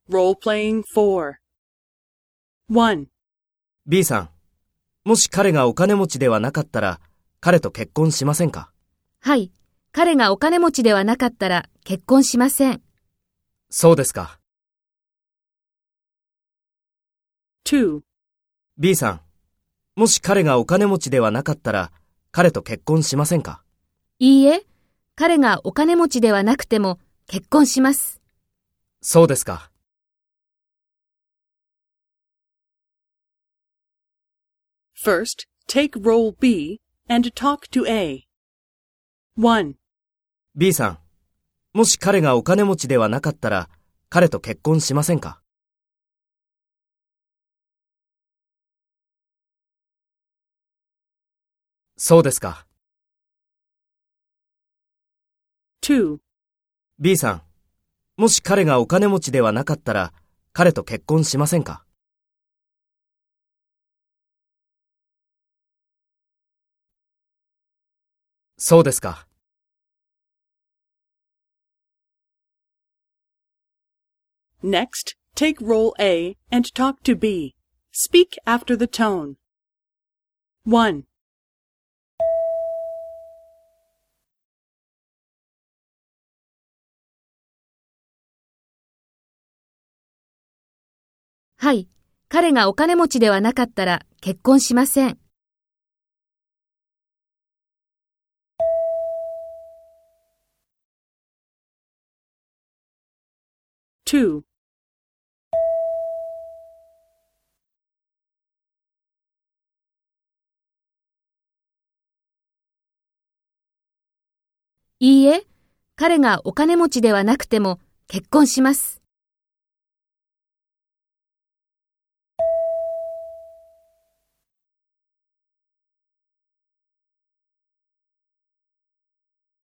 Role-playing 4. 1. B さん、もし彼がお金持ちではなかったら、彼と結婚しませんか？ はい。彼がお金持ちではなかったら結婚しません。 そうですか。 2. B さん、もし彼がお金持ちではなかったら、彼と結婚しませんか？ いいえ、彼がお金持ちではなくても結婚します。 そうですか。 First, take role B and talk to A. 1. B さん、もし彼がお金持ちではなかったら、彼と結婚しませんか？そうですか。 2. B さん、もし彼がお金持ちではなかったら、彼と結婚しませんか？そうですか。 Next, take role A and talk to B. Speak after the tone. 1. はい。彼がお金持ちではなかったら結婚しません。 2. いいえ、彼がお金持ちではなくても結婚します。